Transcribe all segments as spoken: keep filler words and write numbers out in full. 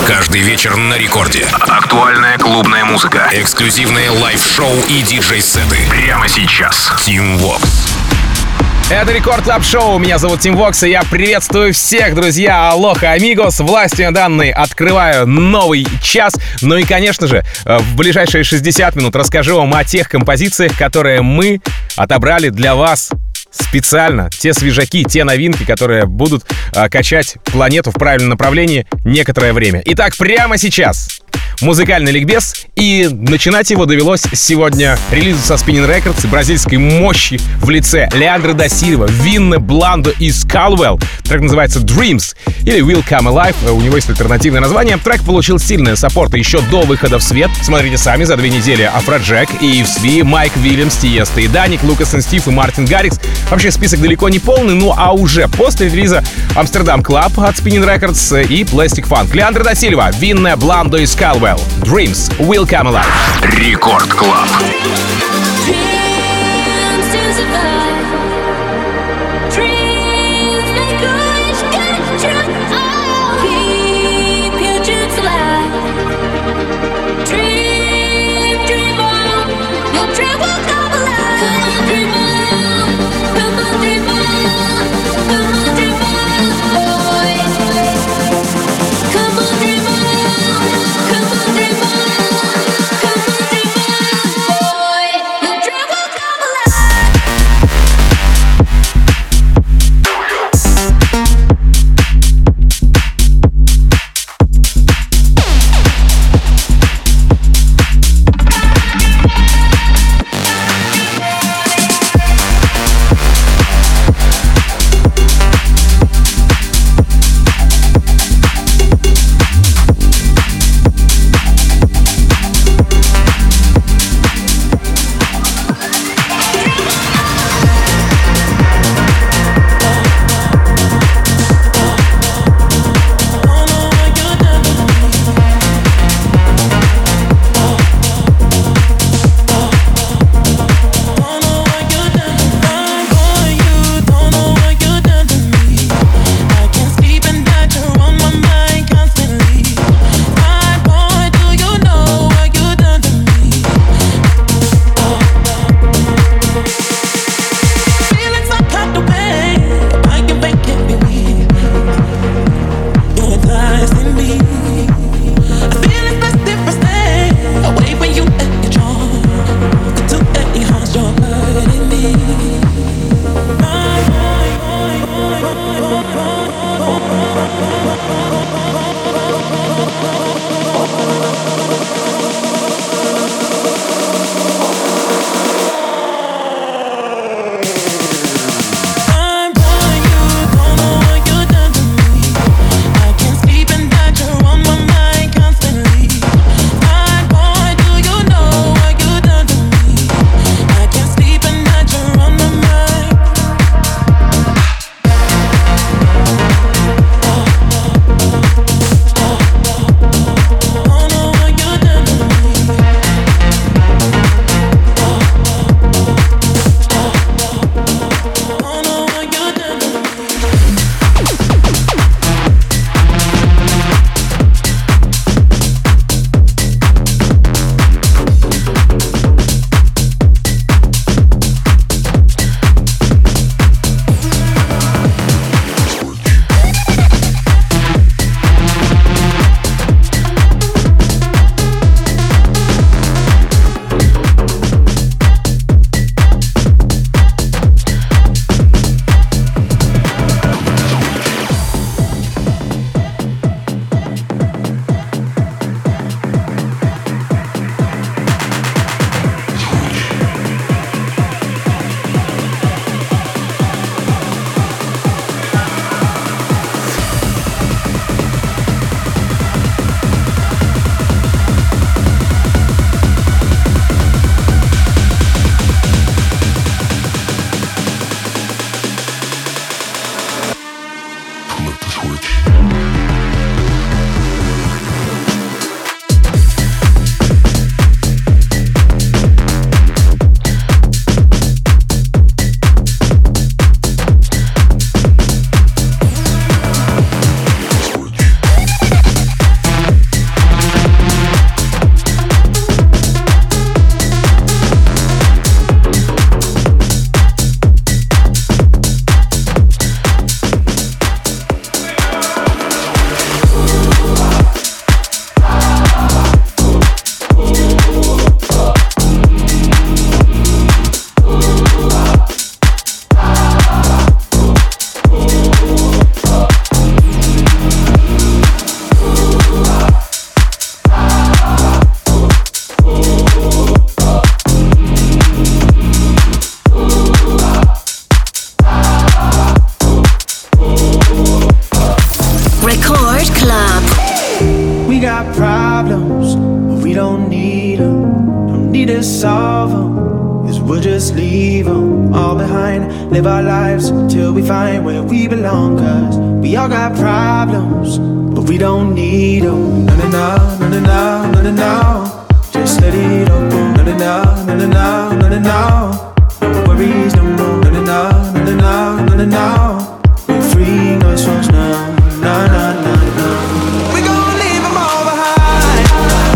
Каждый вечер на рекорде. Актуальная клубная музыка. Эксклюзивные лайв-шоу и диджей-сеты. Прямо сейчас. Team Vox. Это Рекорд Клаб Шоу. Меня зовут Тим Вокс, и я приветствую всех, друзья. Алоха, амигос. Властью данной открываю новый час. Ну и, конечно же, в ближайшие шестьдесят минут расскажу вам о тех композициях, которые мы отобрали для вас специально. Те свежаки, те новинки, которые будут э, качать планету в правильном направлении некоторое время. Итак, прямо сейчас музыкальный ликбез, и начинать его довелось сегодня релизу со Spinnin' Records и бразильской мощи в лице Леандро да Сильва, Винне, Бландо и Скалвелл. Трек называется Dreams или Will Come Alive, у него есть альтернативное название. Трек получил сильный саппорт еще до выхода в свет. Смотрите сами, за две недели Афроджек, и Ив Сви, Майк Вильямс, Тиеста и Даник, Лукас и Стив и Мартин Гаррикс. Вообще список далеко не полный, ну а уже после релиза Амстердам Клаб от Spinnin' Records и Plastic Funk. Леандро да Сильва, Винне, Бландо и Скалвелл. Dreams Will Come Alive. Рекорд Клаб. Travel them, is we'll just leave them all behind. Live our lives till we find where we belong. Cause we all got problems, but we don't need them. No, no, no, no, no, no, no, no, no. Just let it all go. No, no, no, no, no, no, no, no, no. No worries no more. No, no, no, no, no, no, no, no, no. We're free, no songs now. No, no, no, no. We gon' leave them all behind.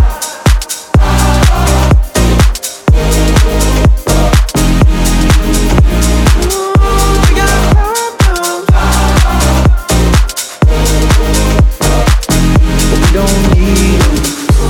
Ooh, we got problems, but we don't need them.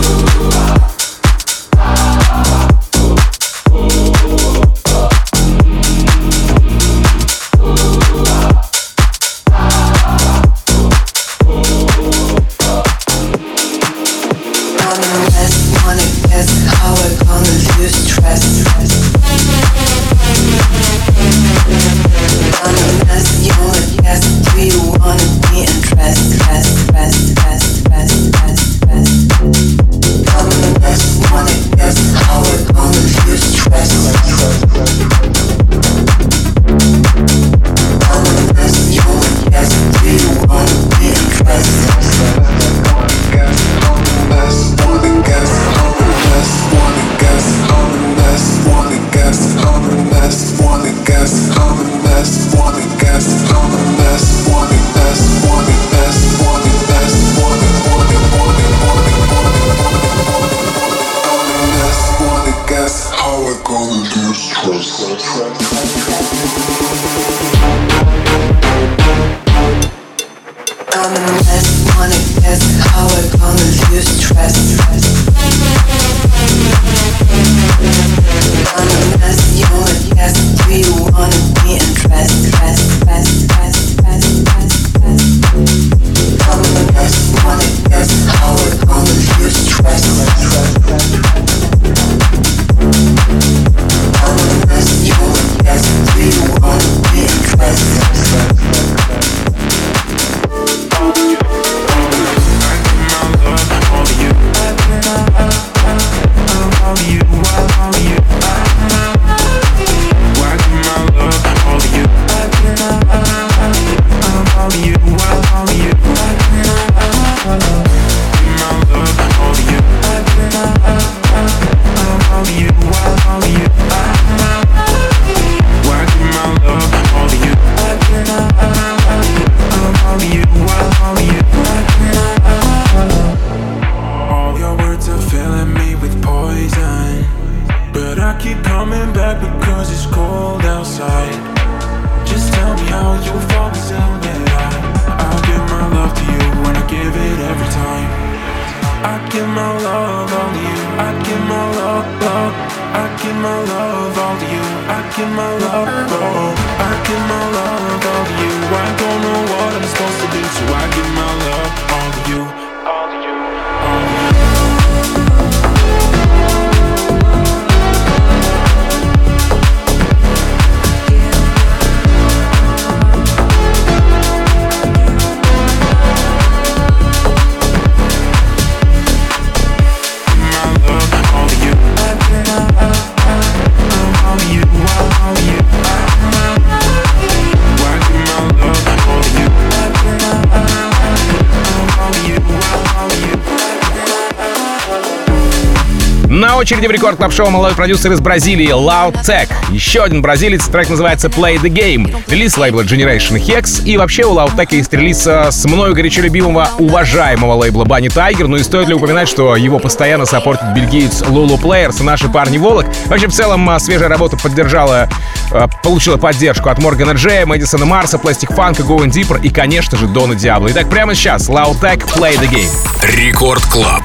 На очереди в Рекорд Клаб Шоу молодой продюсер из Бразилии Loud Tech. Еще один бразилец, трек называется Play the Game. Релиз лейбла Generation Hex. И вообще у Loud Tech есть релиз с мною горячо любимого, уважаемого лейбла Bunny Tiger. Ну и стоит ли упоминать, что его постоянно саппортит бельгиец Lulu Players и наши парни Волок. Вообще в целом свежая работа поддержала, получила поддержку от Моргана Джея, Мэдисона Марса, Plastic Funk, Going Deeper и, конечно же, Дона Диабло. Итак, прямо сейчас Loud Tech Play the Game. Рекорд Клаб.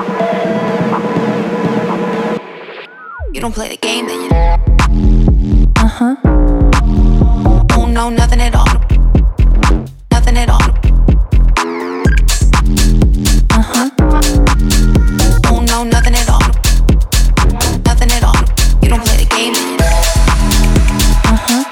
You don't play the game, then you Uh-huh. Oh no, nothing at all. Nothing at all. Uh-huh. Oh no, nothing at all. Nothing at all. You don't play the game. Uh-huh.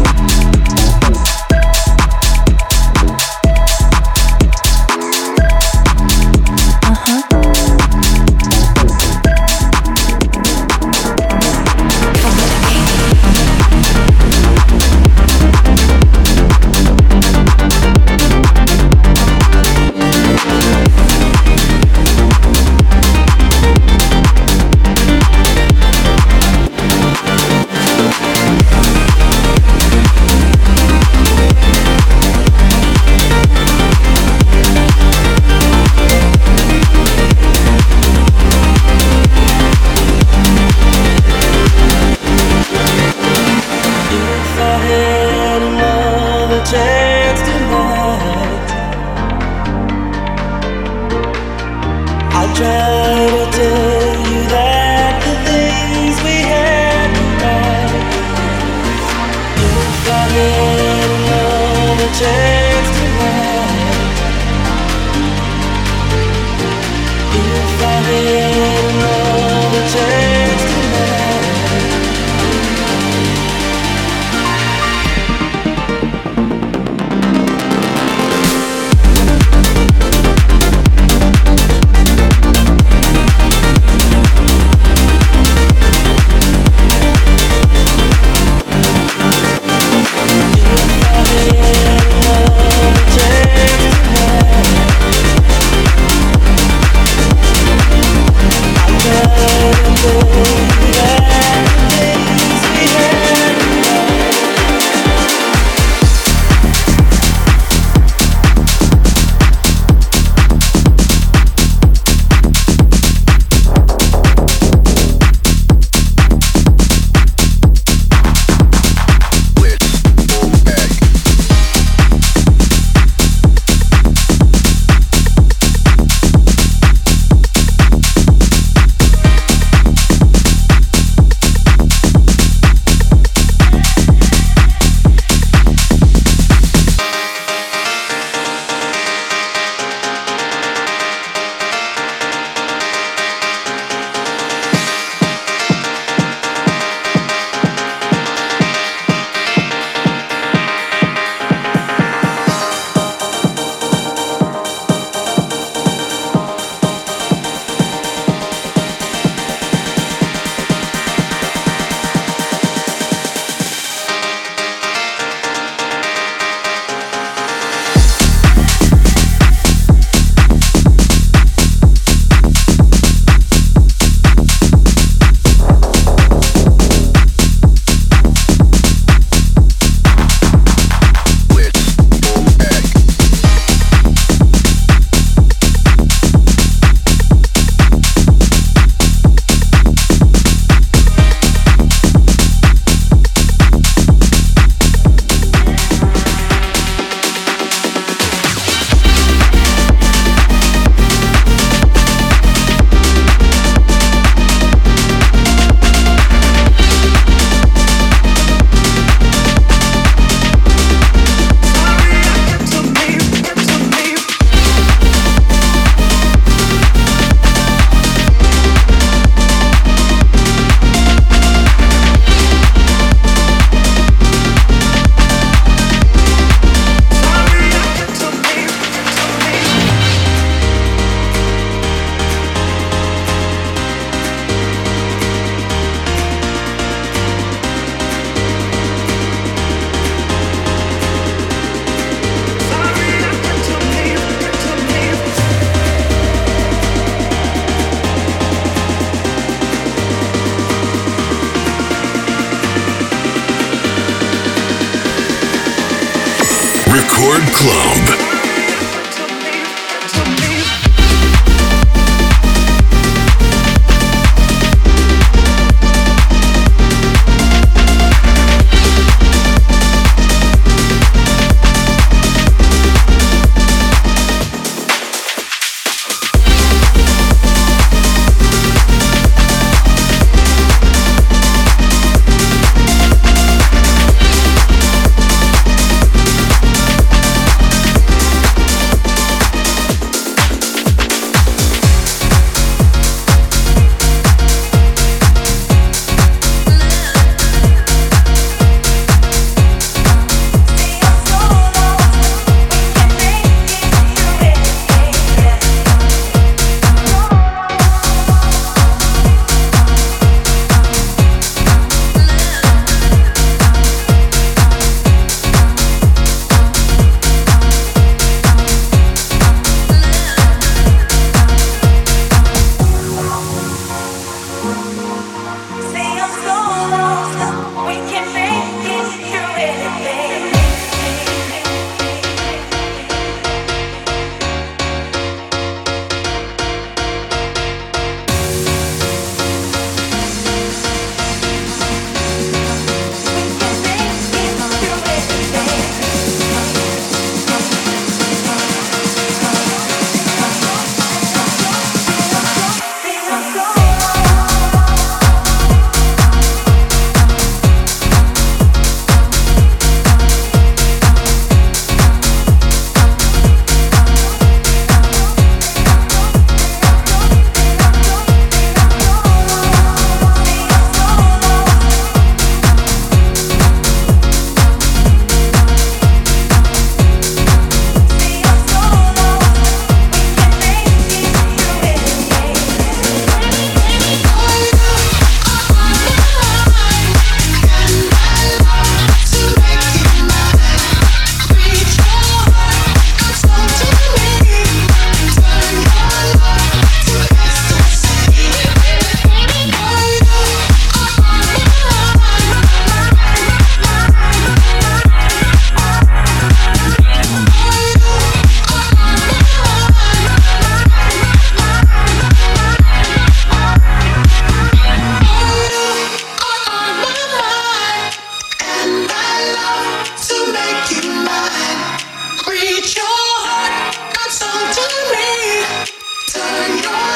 Record Club.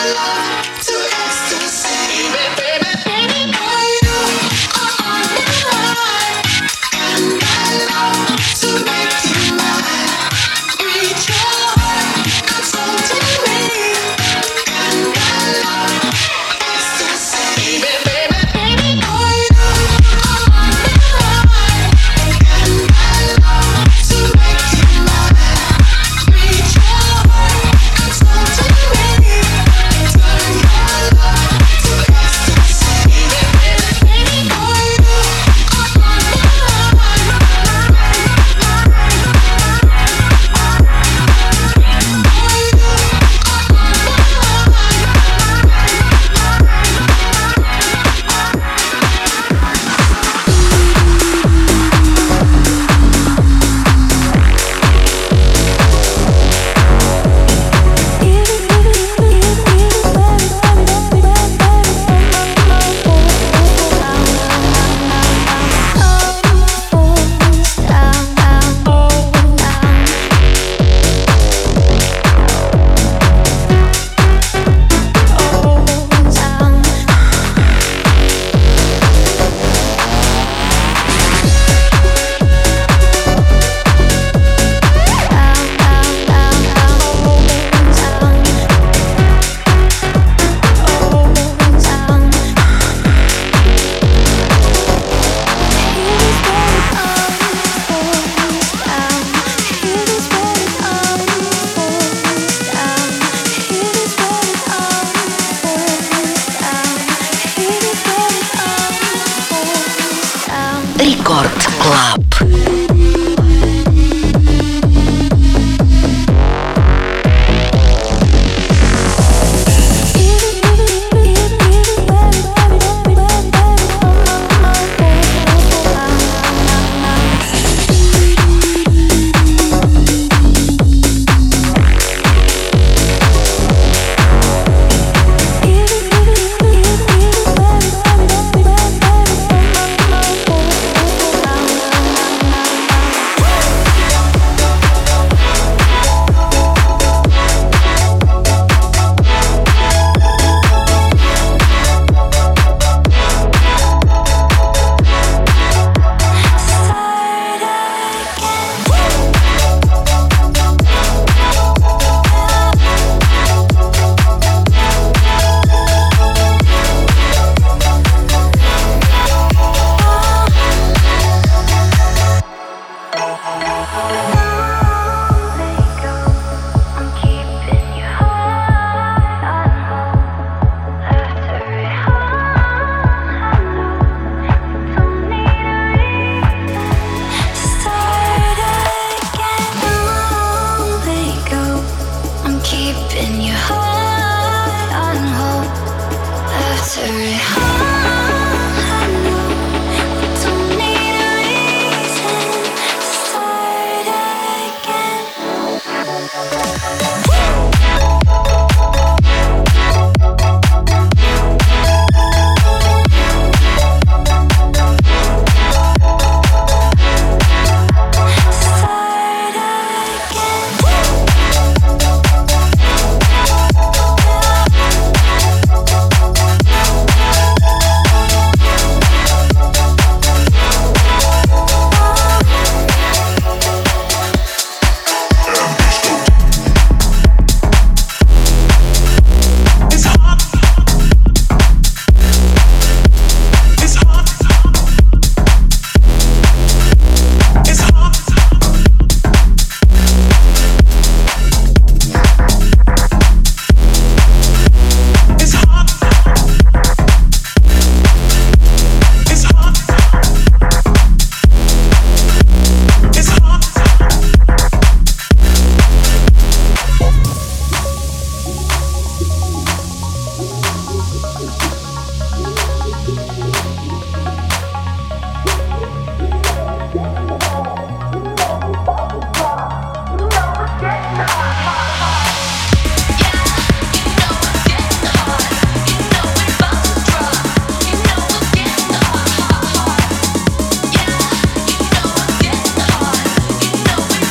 Рекорд Клаб.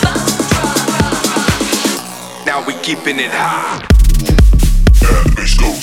Keeping it high. Yeah, let's go.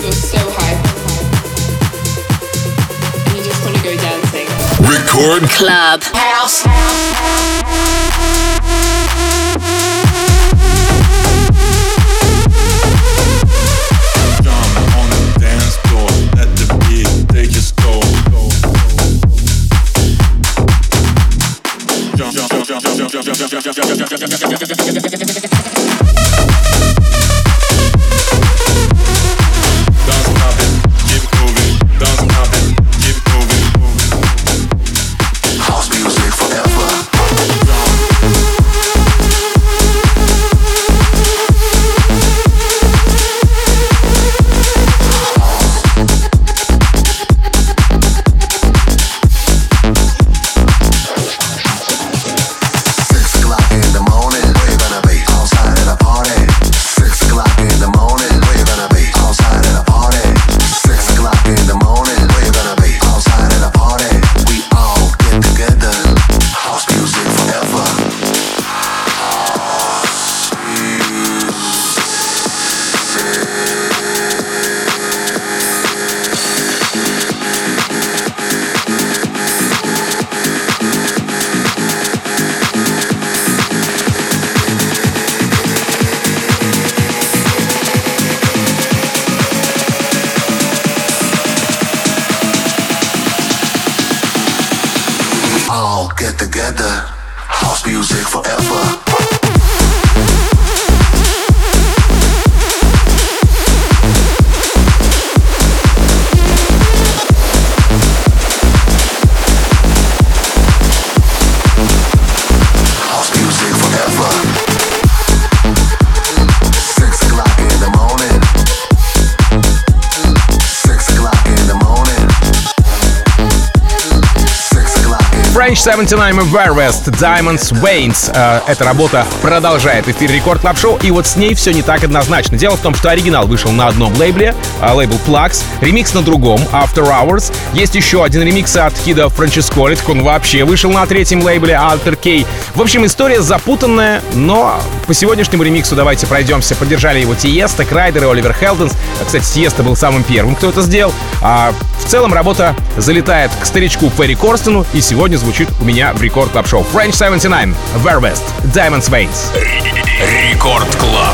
You're so hype. And you just want to go dancing. Record Club House. French семьдесят девять и Where West, Diamonds Veins. Э, эта работа продолжает эфир Рекорд Клаб Шоу, и вот с ней все не так однозначно. Дело в том, что оригинал вышел на одном лейбле, э, лейбл Plax, ремикс на другом, After Hours. Есть еще один ремикс от Кида Франческоли, так он вообще вышел на третьем лейбле, Alter K. В общем, история запутанная, но по сегодняшнему ремиксу давайте пройдемся. Поддержали его Тиеста, Крайдер и Оливер Хелденс. Кстати, Тиеста был самым первым, кто это сделал. А в целом работа залетает к старичку Перри Корстену, и сегодня звучит у меня в Рекорд Клаб Шоу. French семьдесят девять, Where West, Diamonds Veins. Рекорд Клаб.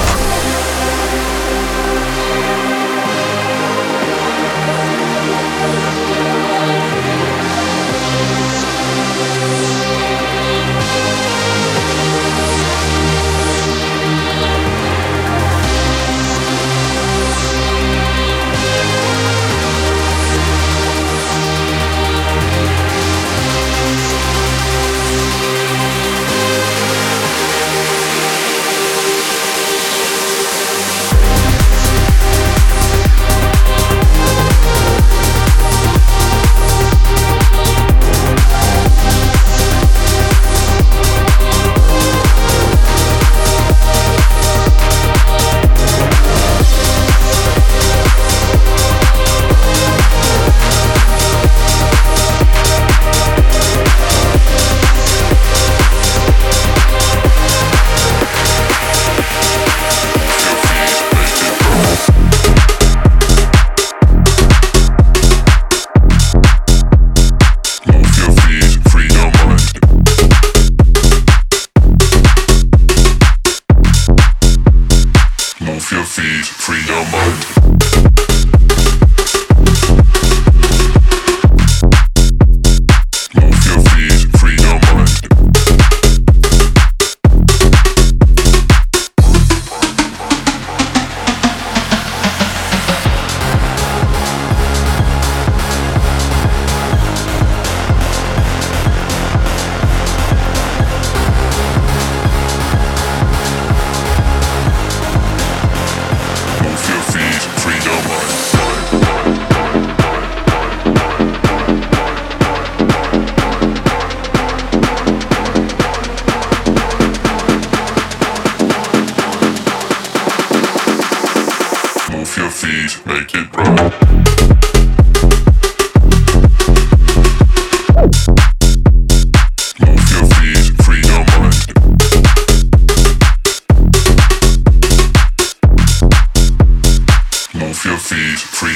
Free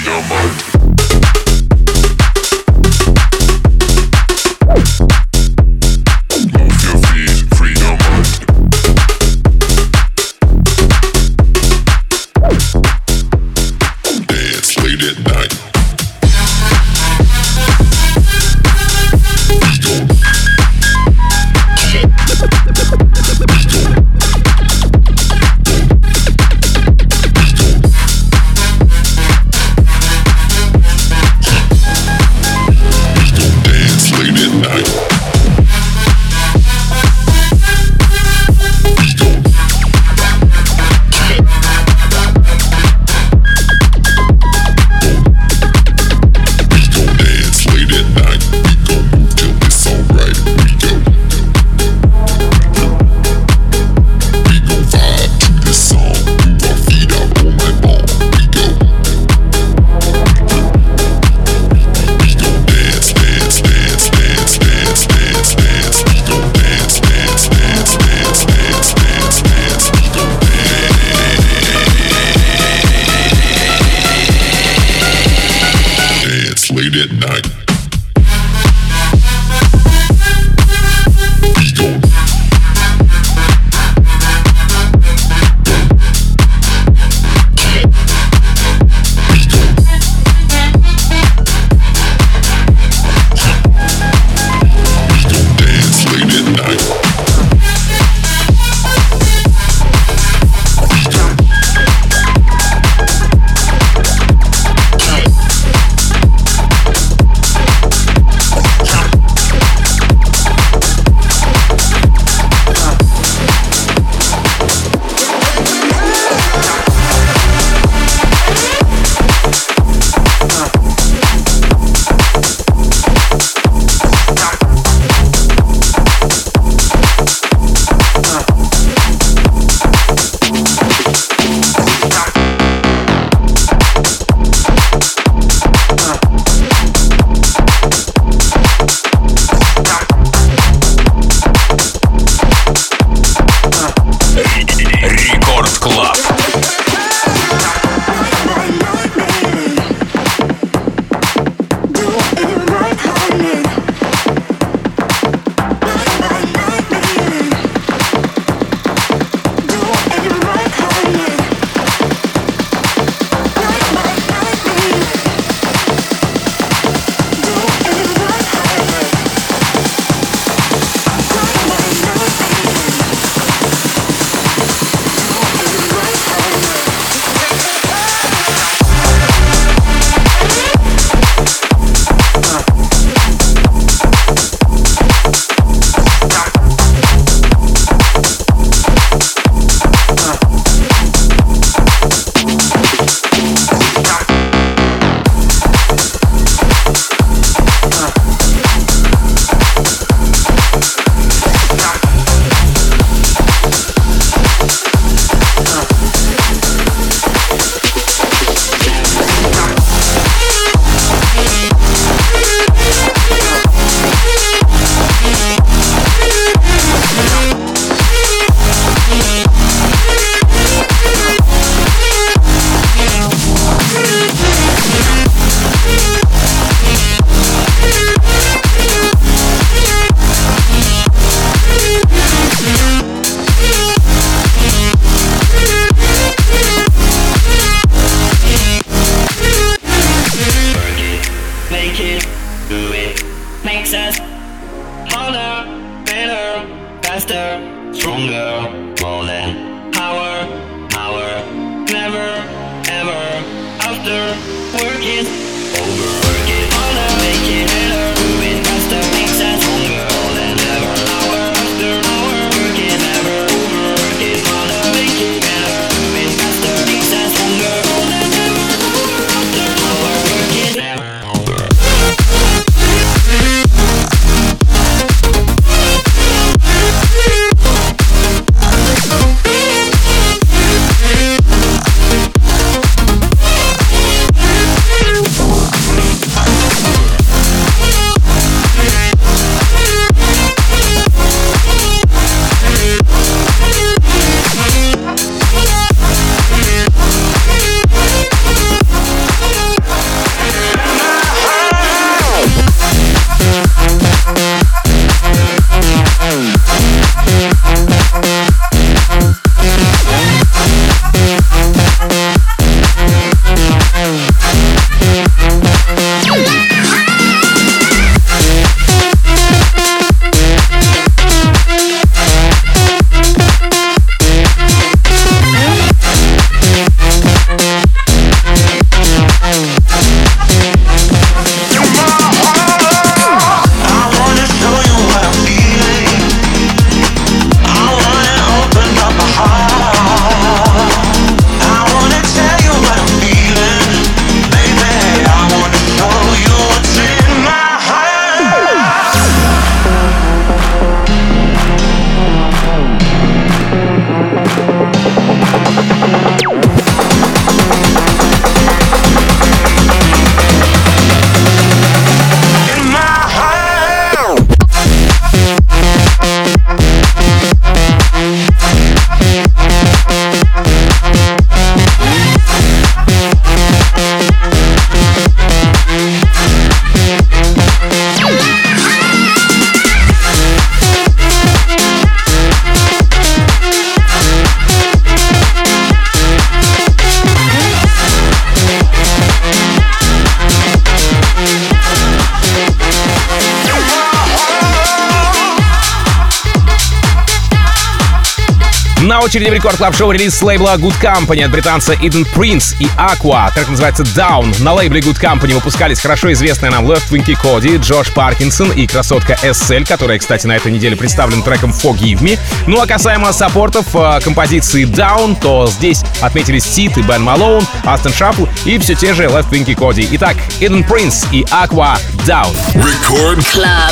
На очереди в Рекорд Клаб Шоу релиз с лейбла Good Company от британца Eden Prince и Aqua. Трек называется Down. На лейбле Good Company выпускались хорошо известные нам Left Wing Cody, Джош Паркинсон и красотка эс эль, которая, кстати, на этой неделе представлена треком Forgive Me. Ну а касаемо саппортов э, композиции Down, то здесь отметились Сид и Бен Малоун, Астон Шаффл и все те же Left Wing Cody. Итак, Eden Prince и Aqua Down. Record Club.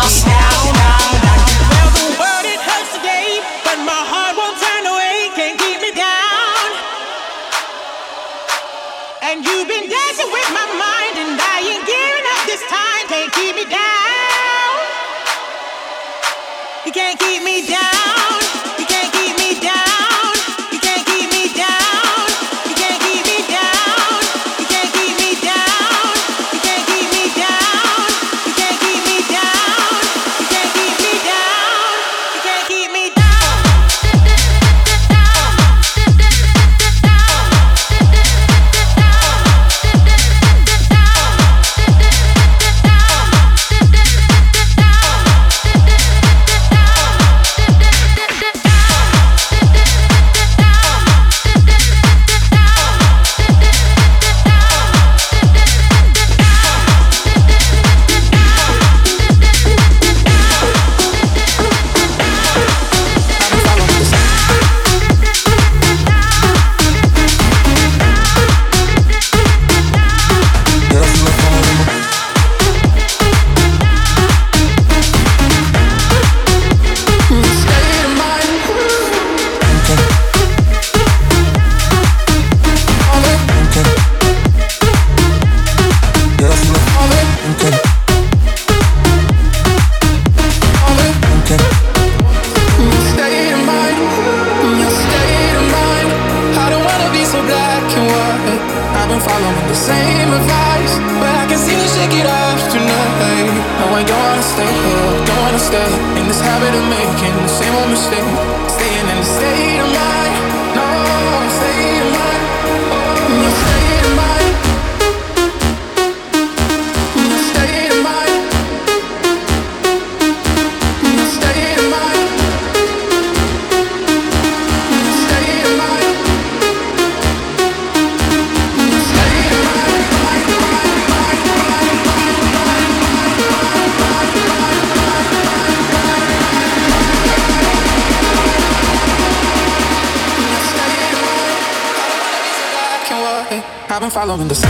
And you've been dancing with my mind, and I ain't giving up this time. Can't keep me down. You can't keep me down. You can't keep me down. You can't keep me down. You can't keep me down. You can't keep me down. You can't keep me down. You can't keep me down. You can't keep me down. You can't keep me down. I've been following the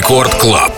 Рекорд Клаб.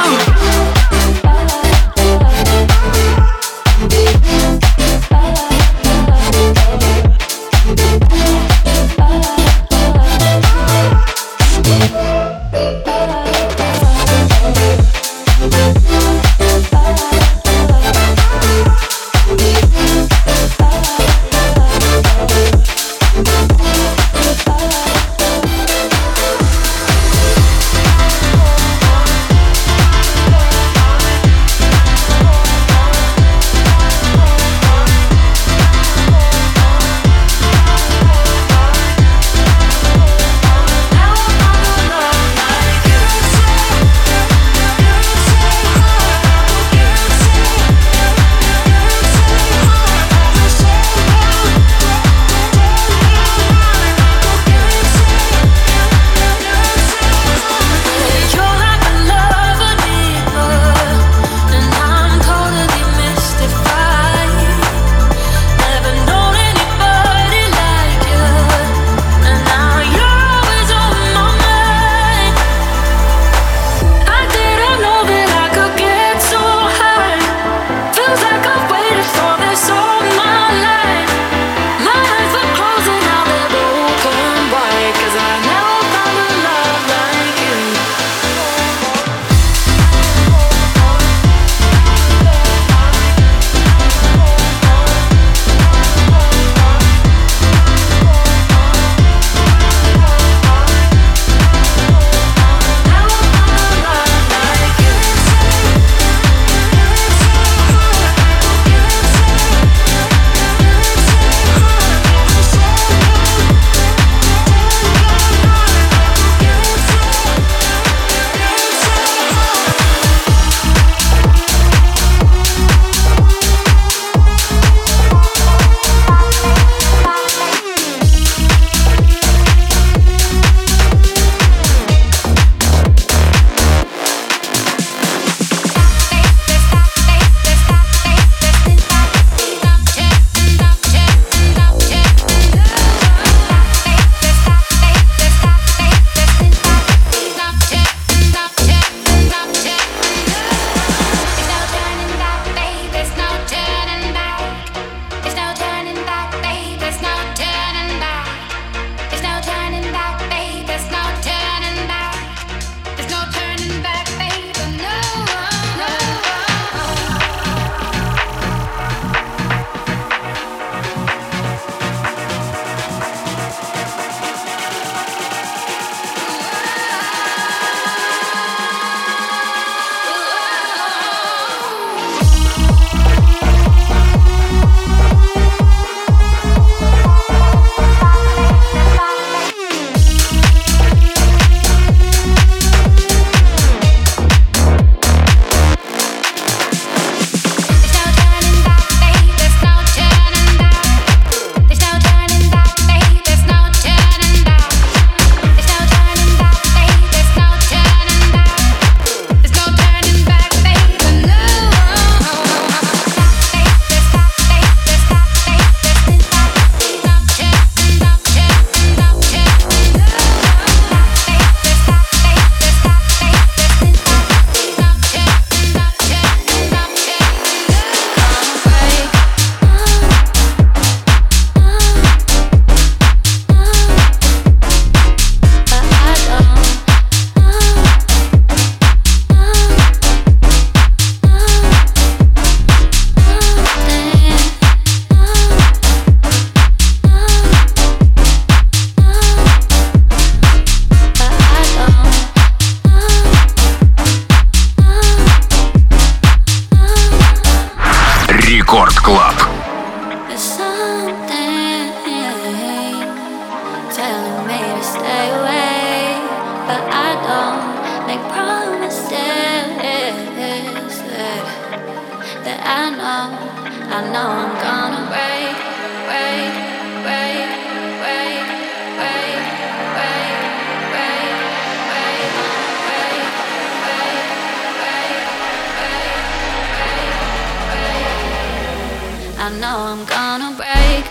I know I'm gonna break.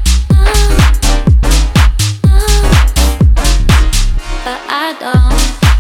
But I don't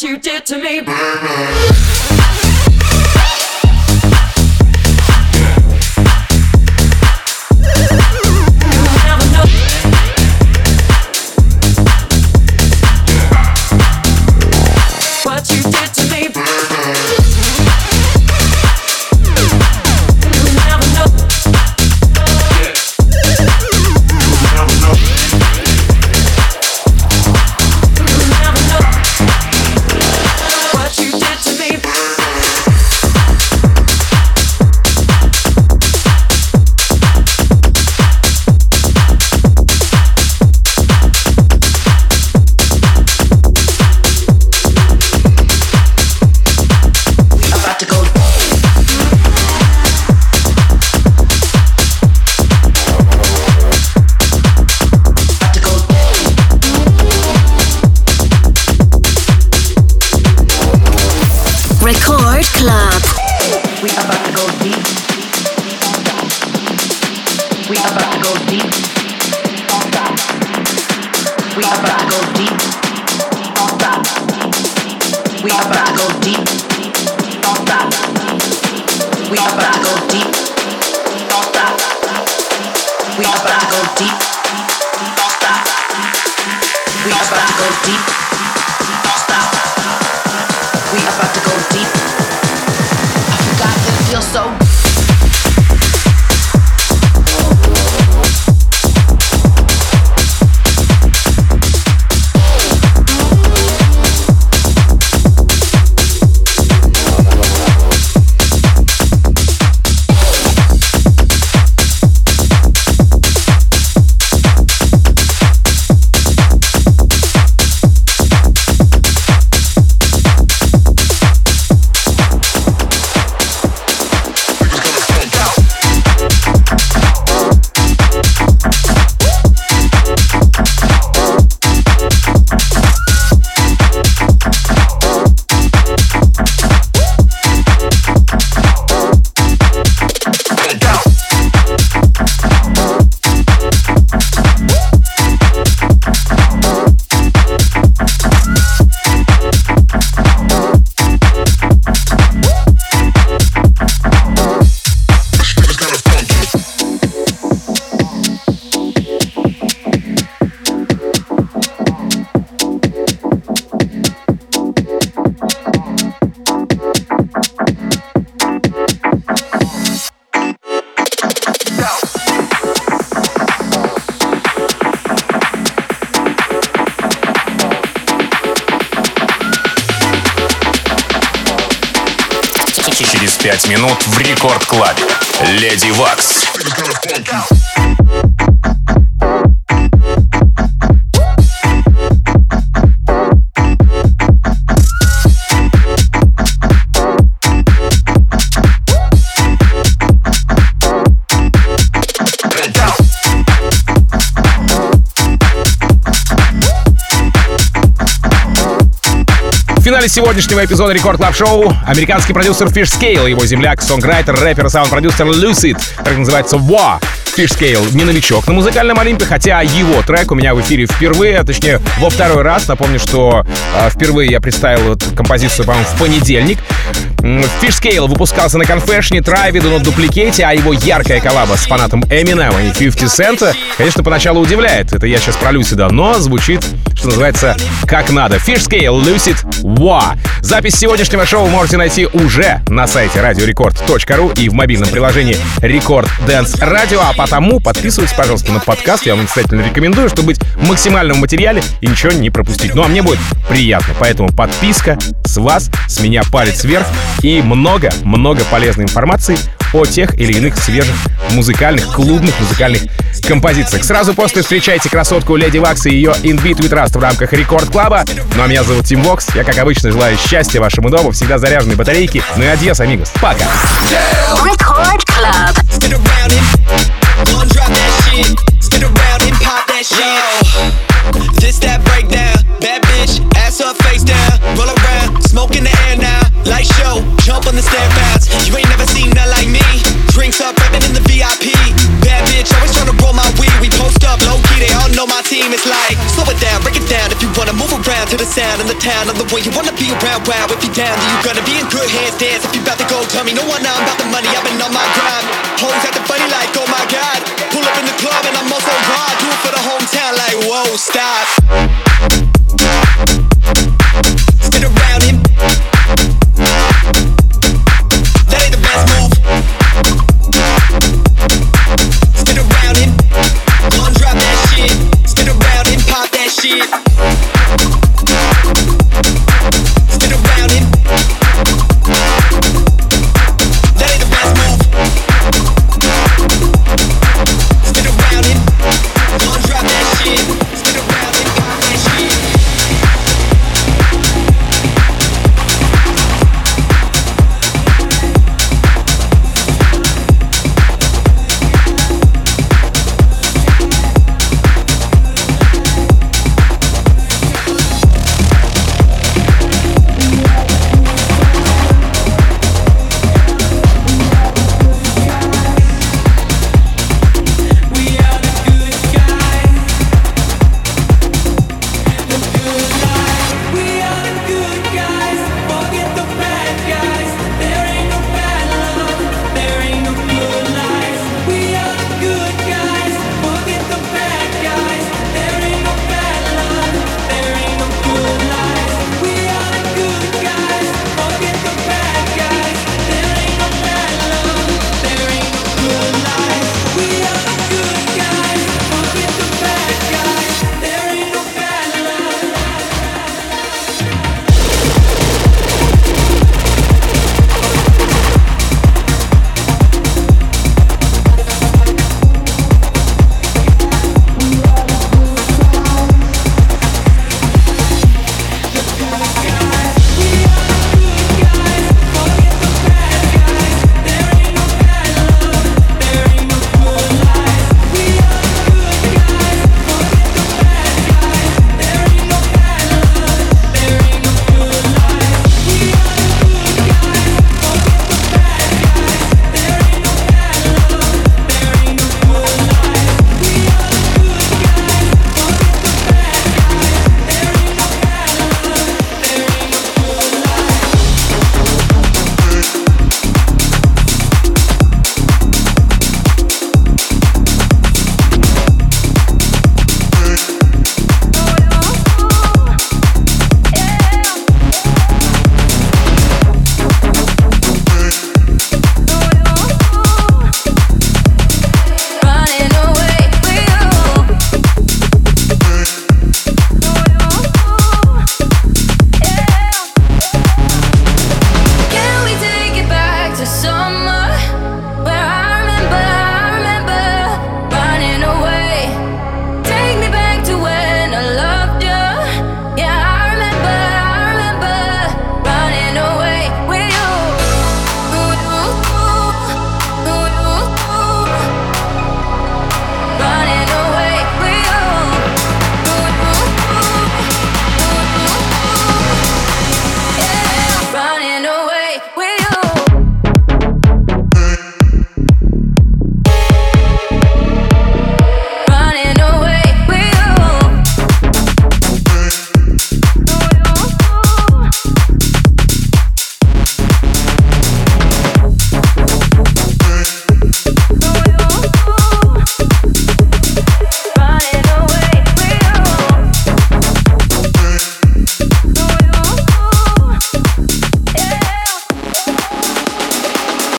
what you did to me. пять минут в Рекорд Клабе. Леди Вакс. В финале сегодняшнего эпизода Рекорд Клаб Шоу американский продюсер Fish Scale, его земляк, сонграйтер, рэпер и саунд-продюсер Lucid, так называется Wa. Fish Scale не новичок на музыкальном Олимпе, хотя его трек у меня в эфире впервые, а точнее во второй раз. Напомню, что э, впервые я представил эту композицию, по-моему, в понедельник. Fish Scale выпускался на Confession, Tribe, Do Not Duplicate, а его яркая коллаба с фанатом Eminem и пятьдесят Cent, конечно, поначалу удивляет. Это я сейчас про Lucid, но звучит, что называется, как надо. Fish Scale, Lucid, Wa. Запись сегодняшнего шоу можете найти уже на сайте радио рекорд точка ру и в мобильном приложении Рекорд Dance Radio, а потому подписывайтесь, пожалуйста, на подкаст. Я вам настоятельно рекомендую, чтобы быть максимально в материале и ничего не пропустить. Ну а мне будет приятно, поэтому подписка с вас, с меня палец вверх и много-много полезной информации о тех или иных свежих музыкальных, клубных музыкальных композициях. Сразу после встречайте красотку Леди Вакс и ее In Beat With Rust в рамках Рекорд Клаба. Ну а меня зовут Тим Вокс. Я, как обычно, желаю счастья вашему дому, всегда заряженной батарейки. Ну и адьос, амигос. Пока. Record Club. Spin around and gon' drop that shit. Spin around and pop that shit. This that breakdown. Bad bitch, ass up, face down. Roll around, smoke in the air now. Light show, jump on the stair pads. You ain't never seen nothing like me. Drinks up, rapping in the V I P. Bad bitch, always tryna roll my weed. We post up, low key, they all don't know my team, it's like slow it down, break it down. If you wanna move around to the sound in the town, I'm the one you wanna be around. Wow, if you down, then you gonna be in good hands. Dance if you about to go, tell me no one now. I'm about the money, I've been on my grind. Hoes acting funny like, oh my god. Pull up in the club and I'm also raw. Do it for the hometown like, whoa, stop.